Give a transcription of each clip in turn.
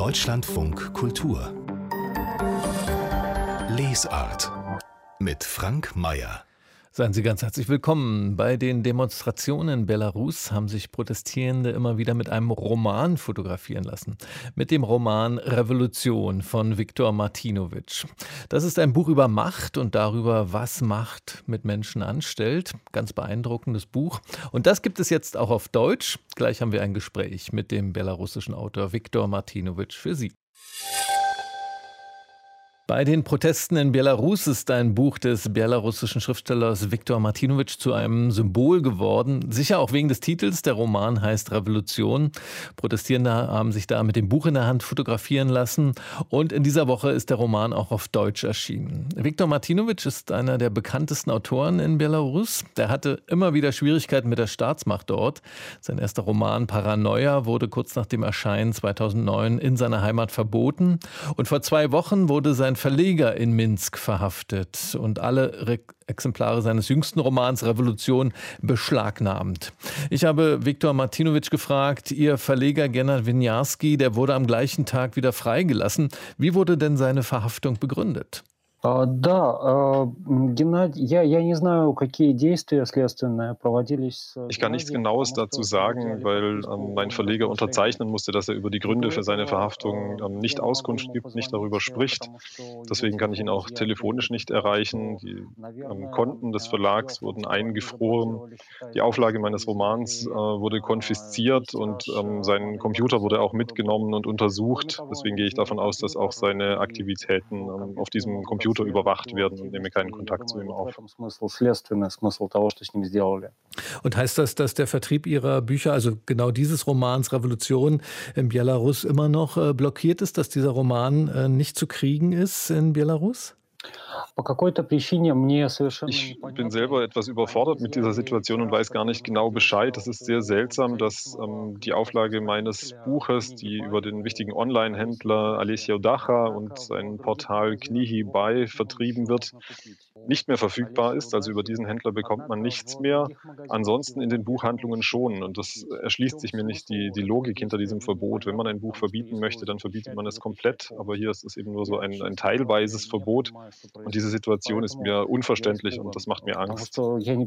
Deutschlandfunk Kultur Lesart mit Frank Mayer. Seien Sie ganz herzlich willkommen. Bei den Demonstrationen in Belarus haben sich Protestierende immer wieder mit einem Roman fotografieren lassen. Mit dem Roman Revolution von Viktor Martinovic. Das ist ein Buch über Macht und darüber, was Macht mit Menschen anstellt. Ganz beeindruckendes Buch. Und das gibt es jetzt auch auf Deutsch. Gleich haben wir ein Gespräch mit dem belarussischen Autor Viktor Martinovic für Sie. Bei den Protesten in Belarus ist ein Buch des belarussischen Schriftstellers Viktor Martinovic zu einem Symbol geworden. Sicher auch wegen des Titels. Der Roman heißt Revolution. Protestierende haben sich da mit dem Buch in der Hand fotografieren lassen. Und in dieser Woche ist der Roman auch auf Deutsch erschienen. Viktor Martinovic ist einer der bekanntesten Autoren in Belarus. Der hatte immer wieder Schwierigkeiten mit der Staatsmacht dort. Sein erster Roman Paranoia wurde kurz nach dem Erscheinen 2009 in seiner Heimat verboten. Und vor 2 Wochen wurde sein Verleger in Minsk verhaftet und alle Exemplare seines jüngsten Romans Revolution beschlagnahmt. Ich habe Viktor Martinovic gefragt, Ihr Verleger Gennad Winiarski, der wurde am gleichen Tag wieder freigelassen. Wie wurde denn seine Verhaftung begründet? Геннадий, я не знаю, какие действия следственные проводились. Ich kann nichts Genaues dazu sagen, weil mein Verleger unterzeichnen musste, dass er über die Gründe für seine Verhaftung nicht Auskunft gibt, nicht darüber spricht. Deswegen kann ich ihn auch telefonisch nicht erreichen. Die Konten des Verlags wurden eingefroren. Die Auflage meines Romans wurde konfisziert und sein Computer wurde auch mitgenommen und untersucht. Deswegen gehe ich davon aus, dass auch seine Aktivitäten auf diesem Computer überwacht werden und nehme keinen Kontakt zu ihm auf. Und heißt das, dass der Vertrieb Ihrer Bücher, also genau dieses Romans Revolution in Belarus immer noch blockiert ist, dass dieser Roman nicht zu kriegen ist in Belarus? Ich bin selber etwas überfordert mit dieser Situation und weiß gar nicht genau Bescheid. Es ist sehr seltsam, dass die Auflage meines Buches, die über den wichtigen Online-Händler Alessia Udacha und sein Portal Knihy Buy vertrieben wird, nicht mehr verfügbar ist. Also über diesen Händler bekommt man nichts mehr. Ansonsten in den Buchhandlungen schon. Und das erschließt sich mir nicht die Logik hinter diesem Verbot. Wenn man ein Buch verbieten möchte, dann verbietet man es komplett. Aber hier ist es eben nur so ein teilweises Verbot. Und diese Situation ist mir unverständlich und das macht mir Angst.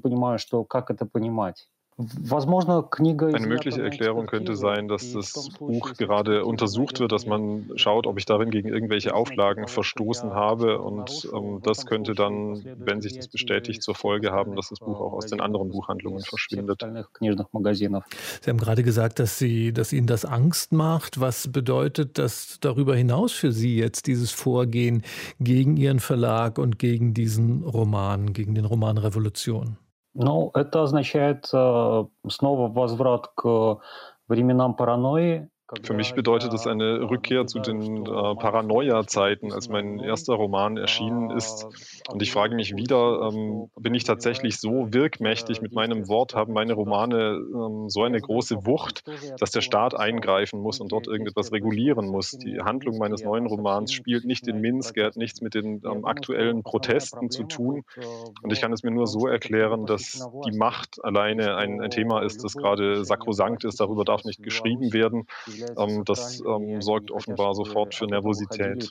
Eine mögliche Erklärung könnte sein, dass das Buch gerade untersucht wird, dass man schaut, ob ich darin gegen irgendwelche Auflagen verstoßen habe. Und das könnte dann, wenn sich das bestätigt, zur Folge haben, dass das Buch auch aus den anderen Buchhandlungen verschwindet. Sie haben gerade gesagt, dass Ihnen das Angst macht. Was bedeutet das darüber hinaus für Sie jetzt, dieses Vorgehen gegen Ihren Verlag und gegen diesen Roman, gegen den Roman Revolution? Это означает снова возврат к временам паранойи. Für mich bedeutet es eine Rückkehr zu den Paranoia-Zeiten, als mein erster Roman erschienen ist. Und ich frage mich wieder, bin ich tatsächlich so wirkmächtig mit meinem Wort, haben meine Romane so eine große Wucht, dass der Staat eingreifen muss und dort irgendetwas regulieren muss. Die Handlung meines neuen Romans spielt nicht in Minsk, er hat nichts mit den aktuellen Protesten zu tun. Und ich kann es mir nur so erklären, dass die Macht alleine ein Thema ist, das gerade sakrosankt ist, darüber darf nicht geschrieben werden. Das sorgt offenbar sofort für Nervosität.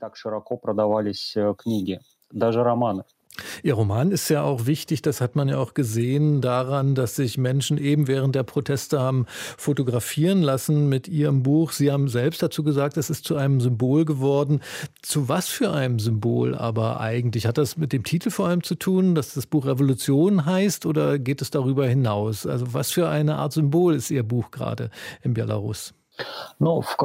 Ihr Roman ist ja auch wichtig, das hat man ja auch gesehen daran, dass sich Menschen eben während der Proteste haben fotografieren lassen mit Ihrem Buch. Sie haben selbst dazu gesagt, es ist zu einem Symbol geworden. Zu was für einem Symbol aber eigentlich? Hat das mit dem Titel vor allem zu tun, dass das Buch Revolution heißt, oder geht es darüber hinaus? Also was für eine Art Symbol ist Ihr Buch gerade in Belarus? Es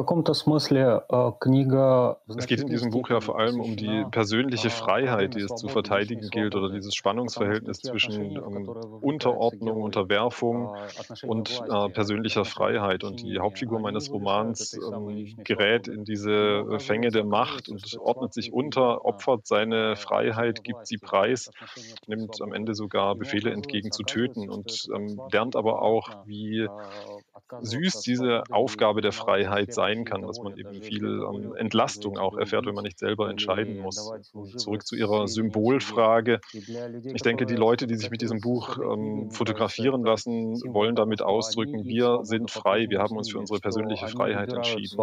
geht in diesem Buch ja vor allem um die persönliche Freiheit, die es zu verteidigen gilt, oder dieses Spannungsverhältnis zwischen Unterordnung, Unterwerfung und persönlicher Freiheit. Und die Hauptfigur meines Romans gerät in diese Fänge der Macht und ordnet sich unter, opfert seine Freiheit, gibt sie preis, nimmt am Ende sogar Befehle entgegen zu töten und lernt aber auch, wie süß diese Aufgabe der Freiheit sein kann, dass man eben viel Entlastung auch erfährt, wenn man nicht selber entscheiden muss. Und zurück zu Ihrer Symbolfrage. Ich denke, die Leute, die sich mit diesem Buch fotografieren lassen, wollen damit ausdrücken, wir sind frei, wir haben uns für unsere persönliche Freiheit entschieden.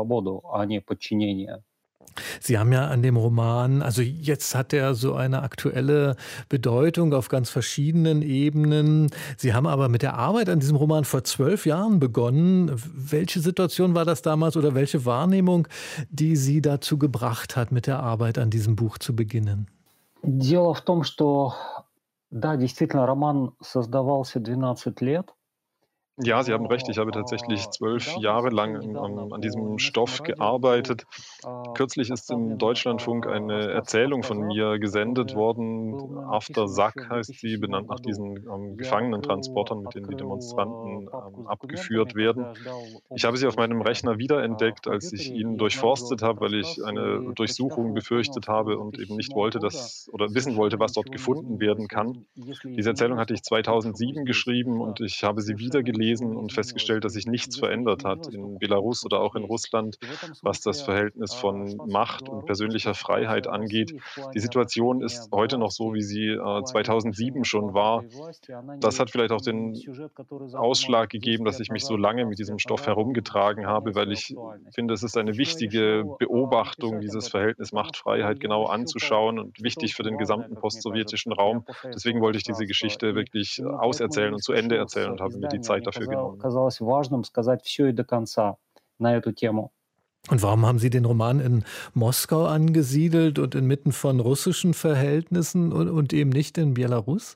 Sie haben ja an dem Roman, also jetzt hat er so eine aktuelle Bedeutung auf ganz verschiedenen Ebenen. Sie haben aber mit der Arbeit an diesem Roman vor 12 Jahren begonnen. Welche Situation war das damals oder welche Wahrnehmung, die Sie dazu gebracht hat, mit der Arbeit an diesem Buch zu beginnen? Дело в том, что, да, действительно, роман создавался 12 лет. Ja, Sie haben recht. Ich habe tatsächlich 12 Jahre lang an diesem Stoff gearbeitet. Kürzlich ist im Deutschlandfunk eine Erzählung von mir gesendet worden. After Sack heißt sie, benannt nach diesen Gefangenentransportern, mit denen die Demonstranten abgeführt werden. Ich habe sie auf meinem Rechner wiederentdeckt, als ich ihn durchforstet habe, weil ich eine Durchsuchung befürchtet habe und eben nicht wollte, oder wissen wollte, was dort gefunden werden kann. Diese Erzählung hatte ich 2007 geschrieben und ich habe sie wieder gelesen und festgestellt, dass sich nichts verändert hat in Belarus oder auch in Russland, was das Verhältnis von Macht und persönlicher Freiheit angeht. Die Situation ist heute noch so, wie sie 2007 schon war. Das hat vielleicht auch den Ausschlag gegeben, dass ich mich so lange mit diesem Stoff herumgetragen habe, weil ich finde, es ist eine wichtige Beobachtung, dieses Verhältnis Macht-Freiheit genau anzuschauen und wichtig für den gesamten postsowjetischen Raum. Deswegen wollte ich diese Geschichte wirklich auserzählen und zu Ende erzählen und habe mir die Zeit dafür genommen. Казалось важным сказать всё и до конца на эту тему. Und warum haben Sie den Roman in Moskau angesiedelt und inmitten von russischen Verhältnissen und eben nicht in Belarus?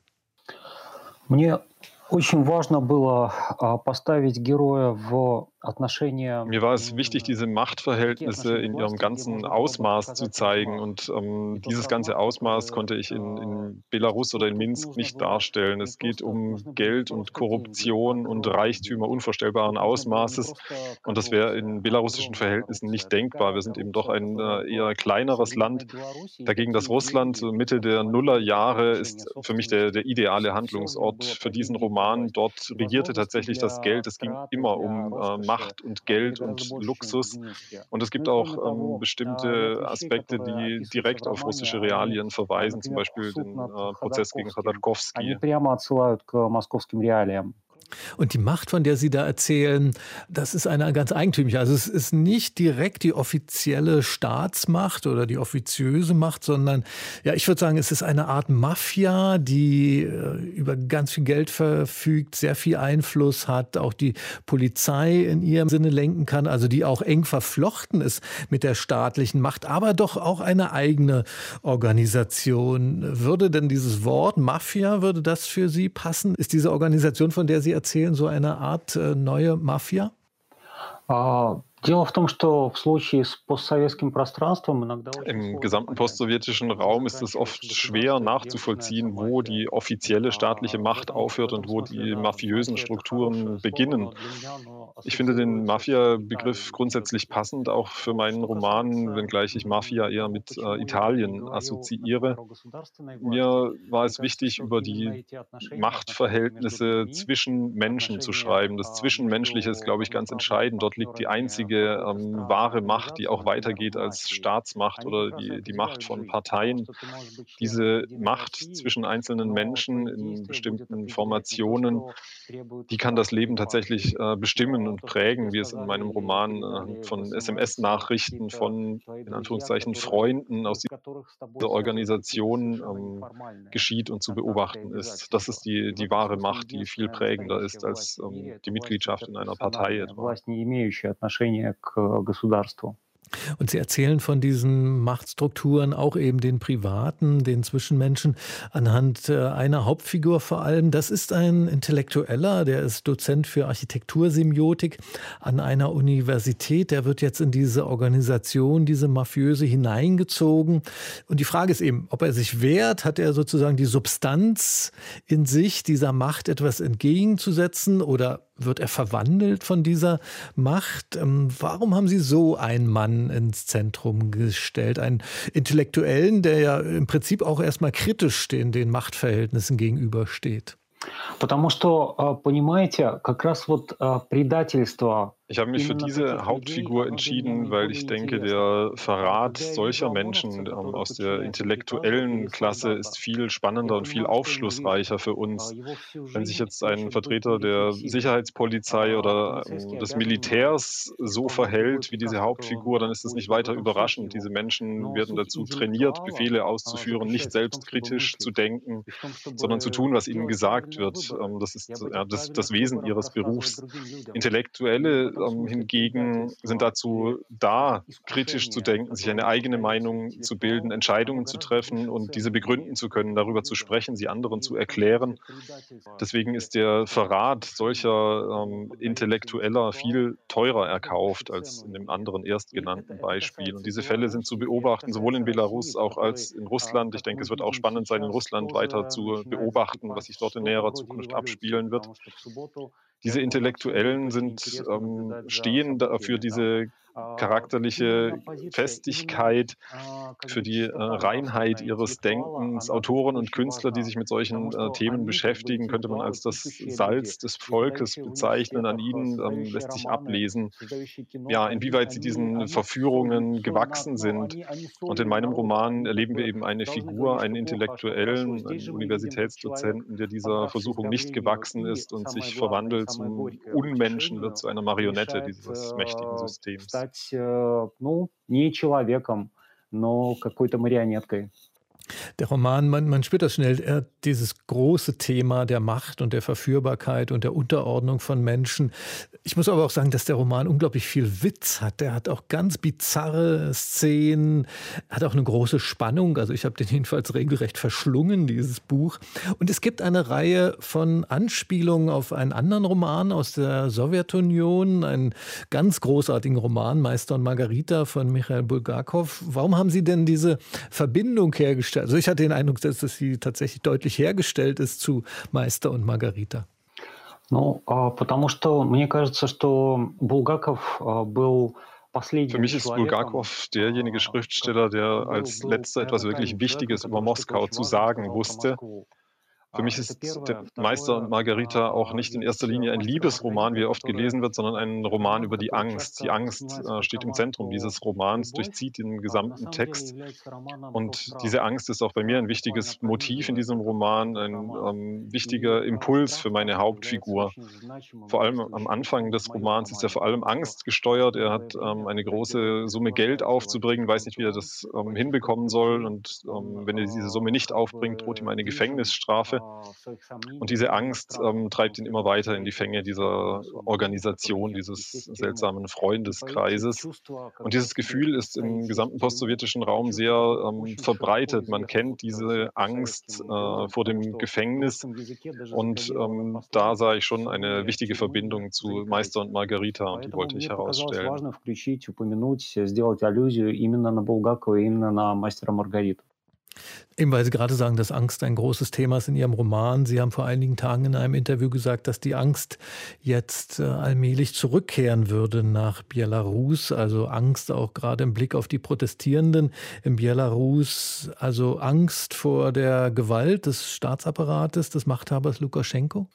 Мне очень важно было, поставить героя в отношения. Mir war es wichtig, diese Machtverhältnisse in ihrem ganzen Ausmaß zu zeigen und dieses ganze Ausmaß konnte ich in Belarus oder in Minsk nicht darstellen. Es geht um Geld und Korruption und Reichtümer unvorstellbaren Ausmaßes und das wäre in belarussischen Verhältnissen nicht denkbar. Wir sind eben doch ein eher kleineres Land. Dagegen das Russland Mitte der Nullerjahre ist für mich der ideale Handlungsort für diesen Roman. Dort regierte tatsächlich das Geld. Es ging immer um Macht und Geld und Luxus. Und es gibt auch bestimmte Aspekte, die direkt auf russische Realien verweisen, zum Beispiel den Prozess gegen Chodorkowski. Они прямо отсылают к московским реалиям. Und die Macht, von der Sie da erzählen, das ist eine ganz eigentümliche. Also es ist nicht direkt die offizielle Staatsmacht oder die offiziöse Macht, sondern ja, ich würde sagen, es ist eine Art Mafia, die über ganz viel Geld verfügt, sehr viel Einfluss hat, auch die Polizei in ihrem Sinne lenken kann, also die auch eng verflochten ist mit der staatlichen Macht, aber doch auch eine eigene Organisation. Würde denn dieses Wort Mafia, würde das für Sie passen? Ist diese Organisation, von der Sie erzählen, so eine Art neue Mafia? Дело в том, что в случае с постсоветским пространством иногда Im gesamten postsowjetischen Raum ist es oft schwer nachzuvollziehen, wo die offizielle staatliche Macht aufhört und wo die mafiösen Strukturen beginnen. Ich finde den Mafia-Begriff grundsätzlich passend, auch für meinen Roman, wenngleich ich Mafia eher mit Italien assoziiere. Mir war es wichtig, über die Machtverhältnisse zwischen Menschen zu schreiben. Das Zwischenmenschliche ist, glaube ich, ganz entscheidend. Dort liegt die einzige wahre Macht, die auch weitergeht als Staatsmacht oder die Macht von Parteien. Diese Macht zwischen einzelnen Menschen in bestimmten Formationen, die kann das Leben tatsächlich bestimmen und prägen, wie es in meinem Roman von SMS-Nachrichten von, in Anführungszeichen, Freunden aus dieser Organisation geschieht und zu beobachten ist. Das ist die wahre Macht, die viel prägender ist als die Mitgliedschaft in einer Partei etwa. власть, не имеющая отношения к государству. Und Sie erzählen von diesen Machtstrukturen, auch eben den privaten, den Zwischenmenschen, anhand einer Hauptfigur vor allem. Das ist ein Intellektueller, der ist Dozent für Architektursemiotik an einer Universität. Der wird jetzt in diese Organisation, diese mafiöse, hineingezogen. Und die Frage ist eben, ob er sich wehrt, hat er sozusagen die Substanz in sich, dieser Macht etwas entgegenzusetzen, oder wird er verwandelt von dieser Macht? Warum haben Sie so einen Mann ins Zentrum gestellt? Einen Intellektuellen, der ja im Prinzip auch erstmal kritisch den Machtverhältnissen gegenübersteht. Потому что, понимаете, как раз вот, предательство Ich habe mich für именно diese таких людей, Hauptfigur оно для меня entschieden, weil ich наиболее denke, интересно. der Verrat Когда я вижу solcher ОМОНовца, Menschen который aus der подчиняется приказу intellektuellen или Klasse ist солдата, viel я spannender und viel понимаю, что aufschlussreicher индивид, für uns. его всю Wenn sich жизнь jetzt ein хочет быть Vertreter der нерепрессивным. Sicherheitspolizei oder Полицейский des обязан, Militärs so исполнять любой verhält wie приказ, diese который Hauptfigur, dann он ist es nicht получит. В weiter этом суть überraschend. его. Diese Menschen Но werden суть dazu trainiert, интеллектуала, Befehle auszuführen, nicht заключается в том, чтобы selbstkritisch zu мыслить denken, и в том, sondern zu чтобы tun, was ihnen делать gesagt правильные wird. выборы Das и ist об ja этих das правильных Wesen выборах ihres рассказывать Berufs. другим людям. И Intellektuelle в этом смысле hingegen sind предательство и dazu da, kritisch zu искушение, denken, sich которым eine eigene поддается Meinung zu bilden, интеллектуал, оно Entscheidungen zu гораздо treffen выше und diese цену begründen имеет zu können, другим darüber zu людям. sprechen, sie anderen И zu в этом erklären. смысле предательство Deswegen ist тех, der кто Verrat искушение, solcher которому поддается Intellektueller интеллектуал, viel teurer это выше erkauft als цену in dem имеет. anderen И erstgenannten это Beispiel. Und касается diese Fälle sind zu Белоруссии, и это beobachten, sowohl in касается России, Belarus в auch которой, als in Russland. Ich как denke, мы es wird auch видим spannend sein, in сейчас, Russland weiter тоже zu начинает beobachten, was закипать sich dort in что-то näherer вроде Zukunft революции, abspielen wird. потому что в субботу, Diese 5 октября, будет Intellektuellen очень sind, интересно наблюдать за stehen da für событиями там. diese Именно charakterliche позиция, именно Festigkeit, как für бы die чистота Reinheit нравственная ihres интеллектуала, Denkens. она тут Autoren und очень Künstler, die важна, sich mit потому solchen что Themen они как бы beschäftigen, könnte man интеллектуалы, als das пишущие люди, Salz des Volkes издающие в bezeichnen. An университетах, ihnen создающие lässt sich романы, ablesen, создающие кино, ja, они, inwieweit sie они, diesen они солью, Verführungen gewachsen ну, sind. они Und in солью meinem народа, Roman они как erleben wir бы eben eine должны Figur, говорить, einen что плохо, а что хорошо. Intellektuellen, Здесь einen же мы видим, как человек, Universitätsdozenten, der dieser поддавшись Versuchung nicht давлению gewachsen и, ist und самое sich главное, и verwandelt самое zum горькое, Unmenschen wird, утешению, zu einer Marionette решает dieses mächtigen Systems. стать, ну, не человеком, но какой-то марионеткой. Der Roman, man spürt das schnell, dieses große Thema der Macht und der Verführbarkeit und der Unterordnung von Menschen. Ich muss aber auch sagen, dass der Roman unglaublich viel Witz hat. Der hat auch ganz bizarre Szenen, hat auch eine große Spannung. Also ich habe den jedenfalls regelrecht verschlungen, dieses Buch. Und es gibt eine Reihe von Anspielungen auf einen anderen Roman aus der Sowjetunion, einen ganz großartigen Roman, Meister und Margarita von Michail Bulgakov. Warum haben Sie denn diese Verbindung hergestellt? Also ich hatte den Eindruck, dass sie tatsächlich deutlich hergestellt ist zu Meister und Margarita. Ну, потому что мне кажется, что Булгаков был Für последним mich ist человеком, Bulgakow derjenige Schriftsteller, der als letzter etwas наверное, wirklich крайним человеком, Wichtiges über который что-то Moskau очень zu важное sagen сказал про wusste. Москву. Für mich Это ist der первое. Meister und Второе, Margarita auch nicht in есть erster Linie ein «Мастер и Liebesroman, wie Маргарита», er oft который gelesen wird, sondern ein Roman роман, über die который Angst. Die часто Angst воспринимается как steht im роман Zentrum про dieses Romans, любовь, durchzieht den на gesamten самом деле Text. является романом про Und страх. diese Angst ist auch bei mir ein Буквально wichtiges про Motiv in видео diesem этот, Roman, этот ein роман. И wichtiger Impuls für страх meine также является Hauptfigur. очень значимым Vor allem am действующим Anfang лицом в des моем Romans ist er романе, vor allem потому что angstgesteuert. в Er первое hat время, eine когда герой große Summe Geld сопровождает aufzubringen, weiß nicht, wie er Левашечку-Антон das по этим hinbekommen soll. перипетиям, Und он wenn er diese Summe nicht как aufbringt, droht ihm бы eine движим Gefängnisstrafe. в своих Und сомнениях diese именно Angst страхом, потому treibt ihn что immer ему weiter in die предстоит Fänge вот на dieser суд Божий, который Organisation, нет, и dieses сесть в тюрьму. seltsamen И по эти Freundeskreises. чувства, Und когда dieses тебе Gefühl ist предстоит im сесть в gesamten тюрьму, postsowjetischen это Raum чувство sehr такое очень широко verbreitet. Man kennt известно diese по Angst советским людям, vor потому dem что в Gefängnis. русском языке даже Und закодирована da sah пословица ich schon eine «вне wichtige тюрьмы не Verbindung zu Meister und заикайся». Margarita, und die Поэтому wollte ich мне показалось herausstellen. важно включить, упомянуть, сделать аллюзию именно на Булгакова, именно на «Мастера и Маргариту». Eben weil Sie gerade sagen, dass Angst ein großes Thema ist in Ihrem Roman. Sie haben vor einigen Tagen in einem Interview gesagt, dass die Angst jetzt allmählich zurückkehren würde nach Belarus. Also Angst auch gerade im Blick auf die Protestierenden in Belarus. Also Angst vor der Gewalt des Staatsapparates, des Machthabers Lukaschenko?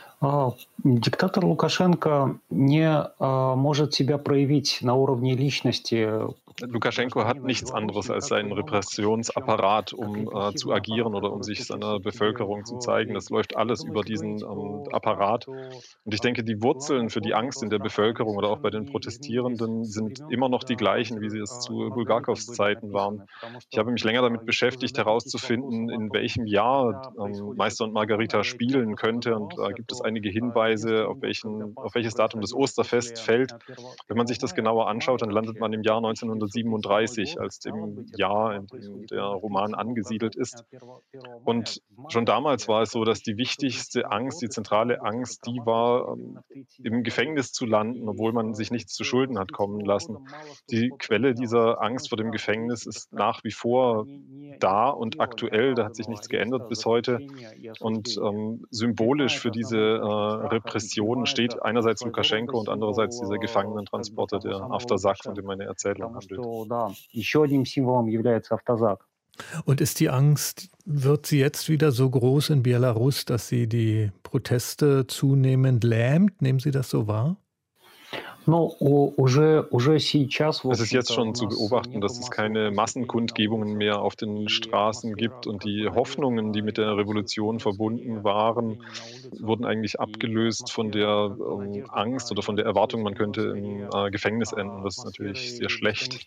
Диктатор Лукашенко не может себя проявить на уровне личности. Lukaschenko hat nichts anderes als seinen Repressionsapparat, um zu agieren oder um sich seiner Bevölkerung zu zeigen. Das läuft alles über diesen Apparat. Und ich denke, die Wurzeln für die Angst in der Bevölkerung oder auch bei den Protestierenden sind immer noch die gleichen, wie sie es zu Bulgakows Zeiten waren. Ich habe mich länger damit beschäftigt, herauszufinden, in welchem Jahr Meister und Margarita spielen könnte. Und da gibt es einige Hinweise, auf welches Datum das Osterfest fällt. Wenn man sich das genauer anschaut, dann landet man im Jahr 1937, als dem Jahr, in dem der Roman angesiedelt ist. Und schon damals war es so, dass die wichtigste Angst, die zentrale Angst, die war, im Gefängnis zu landen, obwohl man sich nichts zu Schulden hat kommen lassen. Die Quelle dieser Angst vor dem Gefängnis ist nach wie vor da und aktuell, da hat sich nichts geändert bis heute. Und symbolisch für diese Repression steht einerseits Lukaschenko und andererseits dieser Gefangenentransporter, der Aftersak, von dem meine Erzählung handelt. Еще одним символом является автозак. Und ist die Angst, wird sie jetzt wieder so groß in Belarus, dass sie die Proteste zunehmend lähmt? Nehmen Sie das so wahr? Es ist jetzt schon zu beobachten, dass es keine Massenkundgebungen mehr auf den Straßen gibt und die Hoffnungen, die mit der Revolution verbunden waren, wurden eigentlich abgelöst von der Angst oder von der Erwartung, man könnte im Gefängnis enden. Das ist natürlich sehr schlecht.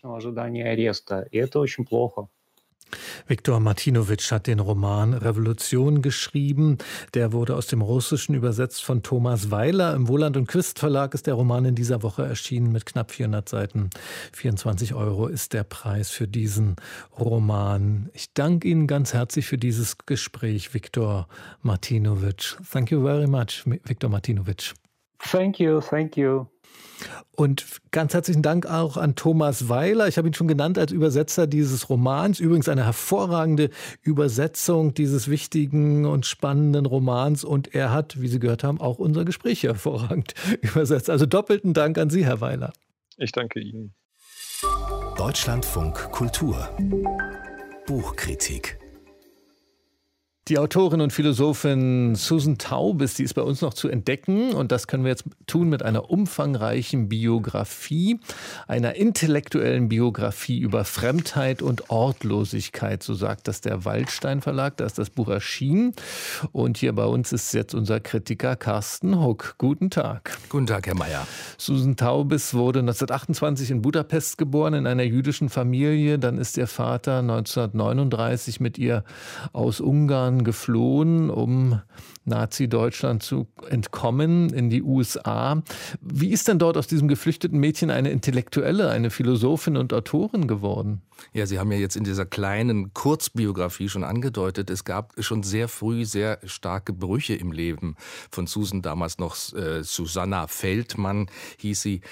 Viktor Martinovic hat den Roman Revolution geschrieben. Der wurde aus dem Russischen übersetzt von Thomas Weiler. Im Wohland und Quist Verlag ist der Roman in dieser Woche erschienen mit knapp 400 Seiten. 24 € ist der Preis für diesen Roman. Ich danke Ihnen ganz herzlich für dieses Gespräch, Viktor Martinovic. Thank you very much, Viktor Martinovic. Thank you, thank you. Und ganz herzlichen Dank auch an Thomas Weiler. Ich habe ihn schon genannt als Übersetzer dieses Romans. Übrigens eine hervorragende Übersetzung dieses wichtigen und spannenden Romans. Und er hat, wie Sie gehört haben, auch unser Gespräch hervorragend übersetzt. Also doppelten Dank an Sie, Herr Weiler. Ich danke Ihnen. Deutschlandfunk Kultur. Buchkritik. Die Autorin und Philosophin Susan Taubes, die ist bei uns noch zu entdecken. Und das können wir jetzt tun mit einer umfangreichen Biografie, einer intellektuellen Biografie über Fremdheit und Ortlosigkeit. So sagt das der Waldstein Verlag, da ist das Buch erschienen. Und hier bei uns ist jetzt unser Kritiker Carsten Huck. Guten Tag. Guten Tag, Herr Mayer. Susan Taubes wurde 1928 in Budapest geboren, in einer jüdischen Familie. Dann ist ihr Vater 1939 mit ihr aus Ungarn geflohen, um Nazi-Deutschland zu entkommen in die USA. Wie ist denn dort aus diesem geflüchteten Mädchen eine Intellektuelle, eine Philosophin und Autorin geworden? Ja, Sie haben ja jetzt in dieser kleinen Kurzbiografie schon angedeutet, es gab schon sehr früh sehr starke Brüche im Leben von Susan, damals noch Susanna Feldmann hieß sie.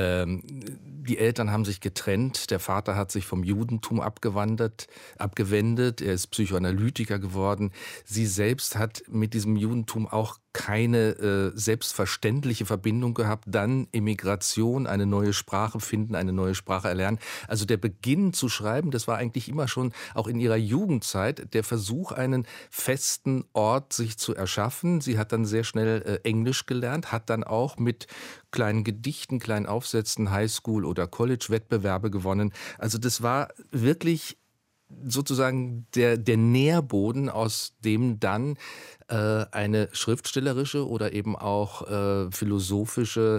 Die Eltern haben sich getrennt, der Vater hat sich vom Judentum abgewendet, er ist Psychoanalytiker geworden. Sie selbst hat mit diesem Judentum auch keine selbstverständliche Verbindung gehabt, dann Emigration, eine neue Sprache finden, eine neue Sprache erlernen. Also der Beginn zu schreiben, das war eigentlich immer schon auch in ihrer Jugendzeit der Versuch, einen festen Ort sich zu erschaffen. Sie hat dann sehr schnell Englisch gelernt, hat dann auch mit kleinen Gedichten, kleinen Aufsätzen Highschool- oder College-Wettbewerbe gewonnen. Also das war wirklich sozusagen der Nährboden, aus dem dann eine schriftstellerische oder eben auch philosophische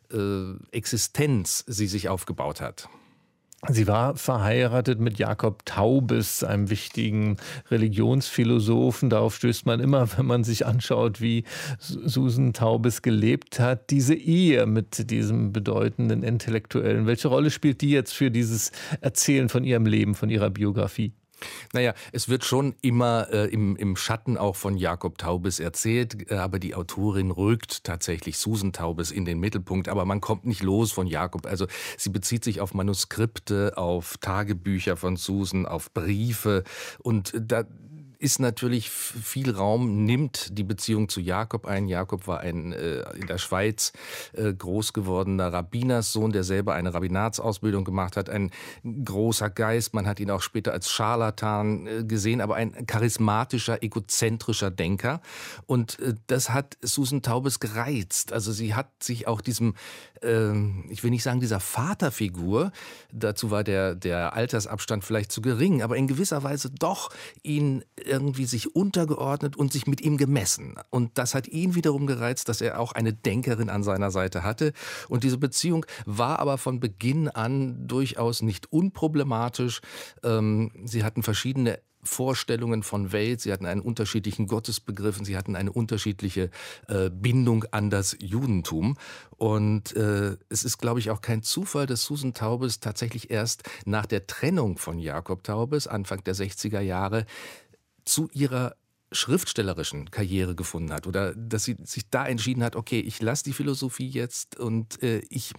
Existenz sie sich aufgebaut hat. Sie war verheiratet mit Jakob Taubes, einem wichtigen Religionsphilosophen. Darauf stößt man immer, wenn man sich anschaut, wie Susan Taubes gelebt hat. Diese Ehe mit diesem bedeutenden Intellektuellen, welche Rolle spielt die jetzt für dieses Erzählen von ihrem Leben, von ihrer Biografie? Naja, es wird schon immer im Schatten auch von Jakob Taubes erzählt, aber die Autorin rückt tatsächlich Susan Taubes in den Mittelpunkt, aber man kommt nicht los von Jakob. Also sie bezieht sich auf Manuskripte, auf Tagebücher von Susan, auf Briefe, und da ist natürlich viel Raum, nimmt die Beziehung zu Jakob ein. Jakob war ein in der Schweiz groß gewordener Rabbinerssohn, der selber eine Rabbinatsausbildung gemacht hat. Ein großer Geist, man hat ihn auch später als Scharlatan gesehen, aber ein charismatischer, egozentrischer Denker. Und das hat Susan Taubes gereizt. Also sie hat sich auch diesem, ich will nicht sagen dieser Vaterfigur, dazu war der Altersabstand vielleicht zu gering, aber in gewisser Weise doch ihn irgendwie sich untergeordnet und sich mit ihm gemessen. Und das hat ihn wiederum gereizt, dass er auch eine Denkerin an seiner Seite hatte. Und diese Beziehung war aber von Beginn an durchaus nicht unproblematisch. Sie hatten verschiedene Vorstellungen von Welt, sie hatten einen unterschiedlichen Gottesbegriff, sie hatten eine unterschiedliche Bindung an das Judentum. Und es ist, glaube ich, auch kein Zufall, dass Susan Taubes tatsächlich erst nach der Trennung von Jakob Taubes, Anfang der 60er Jahre, zu ihrer schriftstellerischen Karriere gefunden hat, oder dass sie sich da entschieden hat, okay, ich lasse die Philosophie jetzt und ich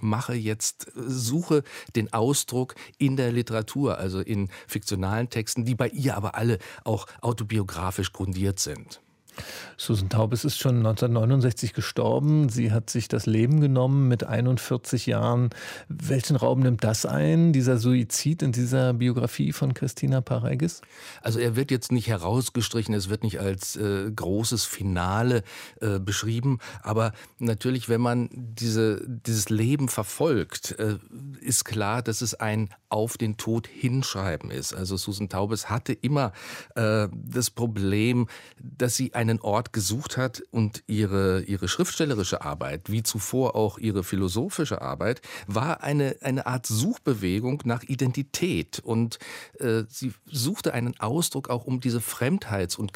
suche den Ausdruck in der Literatur, also in fiktionalen Texten, die bei ihr aber alle auch autobiografisch grundiert sind. Susan Taubes ist schon 1969 gestorben. Sie hat sich das Leben genommen mit 41 Jahren. Welchen Raum nimmt das ein, dieser Suizid in dieser Biografie von Christina Pareigis? Also er wird jetzt nicht herausgestrichen, es wird nicht als großes Finale beschrieben. Aber natürlich, wenn man dieses Leben verfolgt, ist klar, dass es ein auf den Tod hinschreiben ist. Also Susan Taubes hatte immer das Problem, dass sie einen Ort gesucht hat und ihre schriftstellerische Arbeit, wie zuvor auch ihre philosophische Arbeit, war eine Art Suchbewegung nach Identität. Und sie suchte einen Ausdruck auch, um diese Fremdheits- und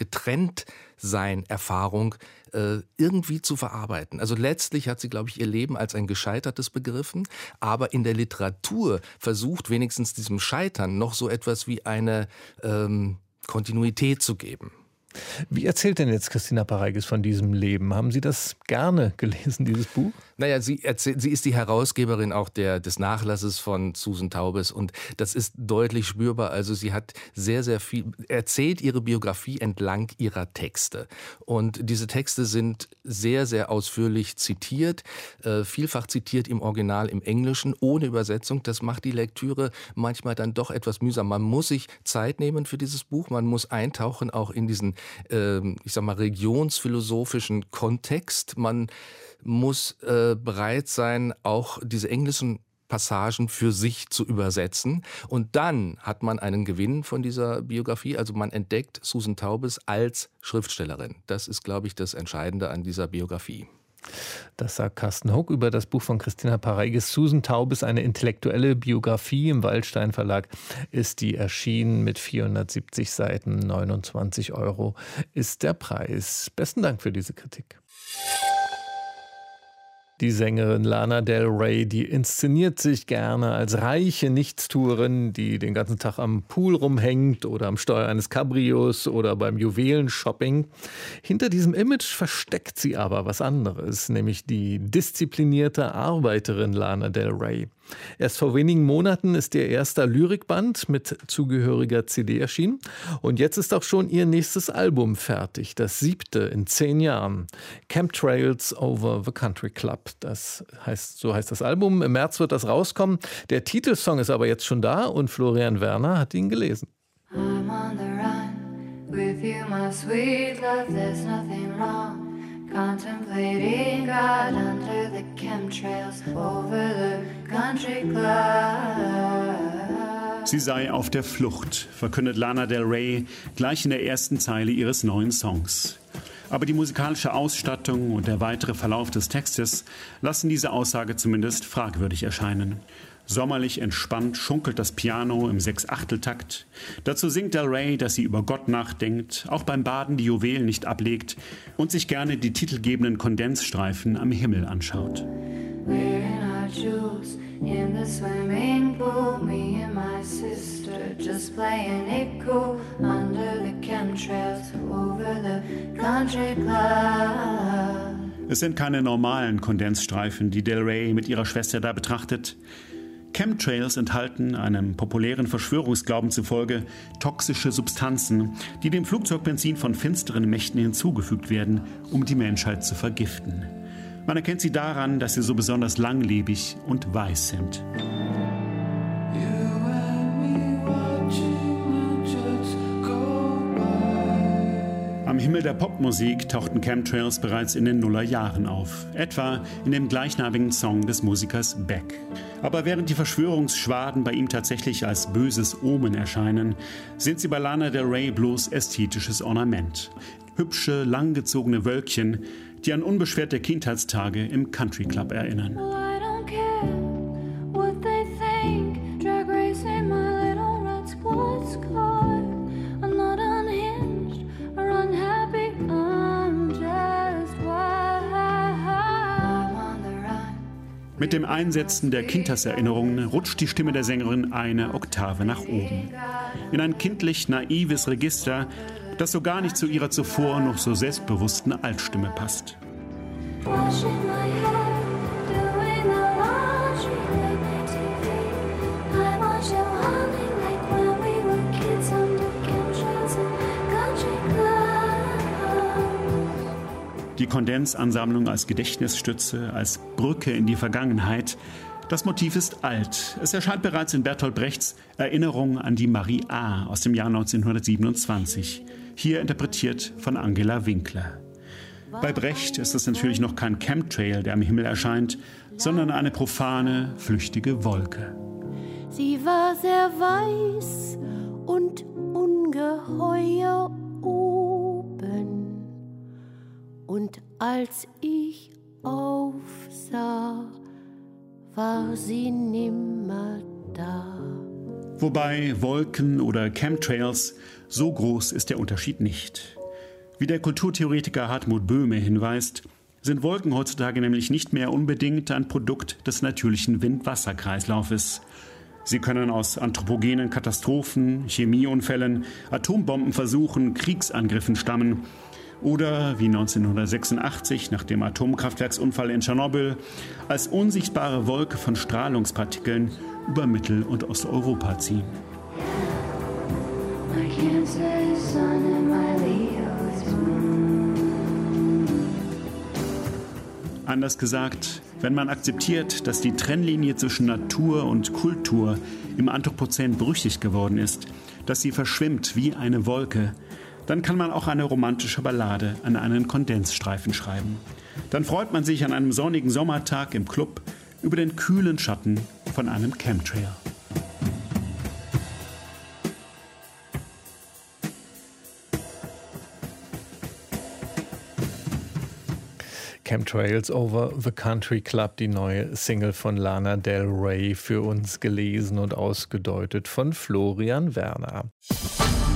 Getrenntsein-Erfahrung irgendwie zu verarbeiten. Also letztlich hat sie, glaube ich, ihr Leben als ein gescheitertes begriffen, aber in der Literatur versucht wenigstens diesem Scheitern noch so etwas wie eine Kontinuität zu geben. Wie erzählt denn jetzt Christina Pareigis von diesem Leben? Haben Sie das gerne gelesen, dieses Buch? Naja, sie ist die Herausgeberin auch des Nachlasses von Susan Taubes und das ist deutlich spürbar. Also sie hat sehr, sehr viel, erzählt ihre Biografie entlang ihrer Texte. Und diese Texte sind sehr, sehr ausführlich zitiert, vielfach zitiert im Original im Englischen, ohne Übersetzung. Das macht die Lektüre manchmal dann doch etwas mühsam. Man muss sich Zeit nehmen für dieses Buch, man muss eintauchen auch in diesen, ich sag mal, religionsphilosophischen Kontext. Man muss bereit sein, auch diese englischen Passagen für sich zu übersetzen. Und dann hat man einen Gewinn von dieser Biografie. Also man entdeckt Susan Taubes als Schriftstellerin. Das ist, glaube ich, das Entscheidende an dieser Biografie. Das sagt Carsten Huck über das Buch von Christina Pareigis. Susan Taubes, eine intellektuelle Biografie. Im Waldstein Verlag ist die erschienen mit 470 Seiten. 29 € ist der Preis. Besten Dank für diese Kritik. Die Sängerin Lana Del Rey, die inszeniert sich gerne als reiche Nichtstuerin, die den ganzen Tag am Pool rumhängt oder am Steuer eines Cabrios oder beim Juwelenshopping. Hinter diesem Image versteckt sie aber was anderes, nämlich die disziplinierte Arbeiterin Lana Del Rey. Erst vor wenigen Monaten ist ihr erster Lyrikband mit zugehöriger CD erschienen. Und jetzt ist auch schon ihr nächstes Album fertig, das 7. in 10 Jahren. Chemtrails over the Country Club. So heißt das Album. Im März wird das rauskommen. Der Titelsong ist aber jetzt schon da und Florian Werner hat ihn gelesen. I'm on the run with you, my sweet love, there's nothing wrong. Contemplating God under the chemtrails over the country club. Sie sei auf der Flucht, verkündet Lana Del Rey gleich in der ersten Zeile ihres neuen Songs. Aber die musikalische Ausstattung und der weitere Verlauf des Textes lassen diese Aussage zumindest fragwürdig erscheinen. Sommerlich entspannt schunkelt das Piano im 6/8-Takt. Dazu singt Del Rey, dass sie über Gott nachdenkt, auch beim Baden die Juwelen nicht ablegt und sich gerne die titelgebenden Kondensstreifen am Himmel anschaut. We're in our jewels in the swimming pool, me and my sister just playing it cool under the chemtrails over the country club. Es sind keine normalen Kondensstreifen, die Del Rey mit ihrer Schwester da betrachtet. Chemtrails enthalten, einem populären Verschwörungsglauben zufolge, toxische Substanzen, die dem Flugzeugbenzin von finsteren Mächten hinzugefügt werden, um die Menschheit zu vergiften. Man erkennt sie daran, dass sie so besonders langlebig und weiß sind. Am Himmel der Popmusik tauchten Chemtrails bereits in den Nullerjahren auf, etwa in dem gleichnamigen Song des Musikers Beck. Aber während die Verschwörungsschwaden bei ihm tatsächlich als böses Omen erscheinen, sind sie bei Lana Del Rey bloß ästhetisches Ornament. Hübsche, langgezogene Wölkchen, die an unbeschwerte Kindheitstage im Country Club erinnern. Well, I don't care what they think. Drag racing my little red sports car. I'm not unhinged or unhappy. I'm just wild. I'm on the run. Mit dem Einsetzen der Kindheitserinnerungen rutscht die Stimme der Sängerin eine Oktave nach oben. In ein kindlich naives Register, das so gar nicht zu ihrer zuvor noch so selbstbewussten Altstimme passt. Washing my hair, doing the laundry, late night TV. I watch you hunting like when we were kids under chemtrails and country club. Die Kondensansammlung als Gedächtnisstütze, als Brücke in die Vergangenheit. Das Motiv ist alt. Es erscheint bereits in Bertolt Brechts Erinnerung an die Marie A. aus dem Jahr 1927. Hier interpretiert von Angela Winkler. Bei Brecht ist es natürlich noch kein Chemtrail, der am Himmel erscheint, sondern eine profane, flüchtige Wolke. Sie war sehr weiß und ungeheuer oben. Und als ich aufsah, war sie nimmer da. Wobei Wolken oder Chemtrails, so groß ist der Unterschied nicht. Wie der Kulturtheoretiker Hartmut Böhme hinweist, sind Wolken heutzutage nämlich nicht mehr unbedingt ein Produkt des natürlichen Wind-Wasser-Kreislaufes. Sie können aus anthropogenen Katastrophen, Chemieunfällen, Atombombenversuchen, Kriegsangriffen stammen oder, wie 1986 nach dem Atomkraftwerksunfall in Tschernobyl, als unsichtbare Wolke von Strahlungspartikeln über Mittel- und Osteuropa ziehen. Anders gesagt, wenn man akzeptiert, dass die Trennlinie zwischen Natur und Kultur im Anthropozän brüchig geworden ist, dass sie verschwimmt wie eine Wolke, dann kann man auch eine romantische Ballade an einen Kondensstreifen schreiben. Dann freut man sich an einem sonnigen Sommertag im Club über den kühlen Schatten von einem Chemtrail. Chemtrails over the Country Club, die neue Single von Lana Del Rey, für uns gelesen und ausgedeutet von Florian Werner.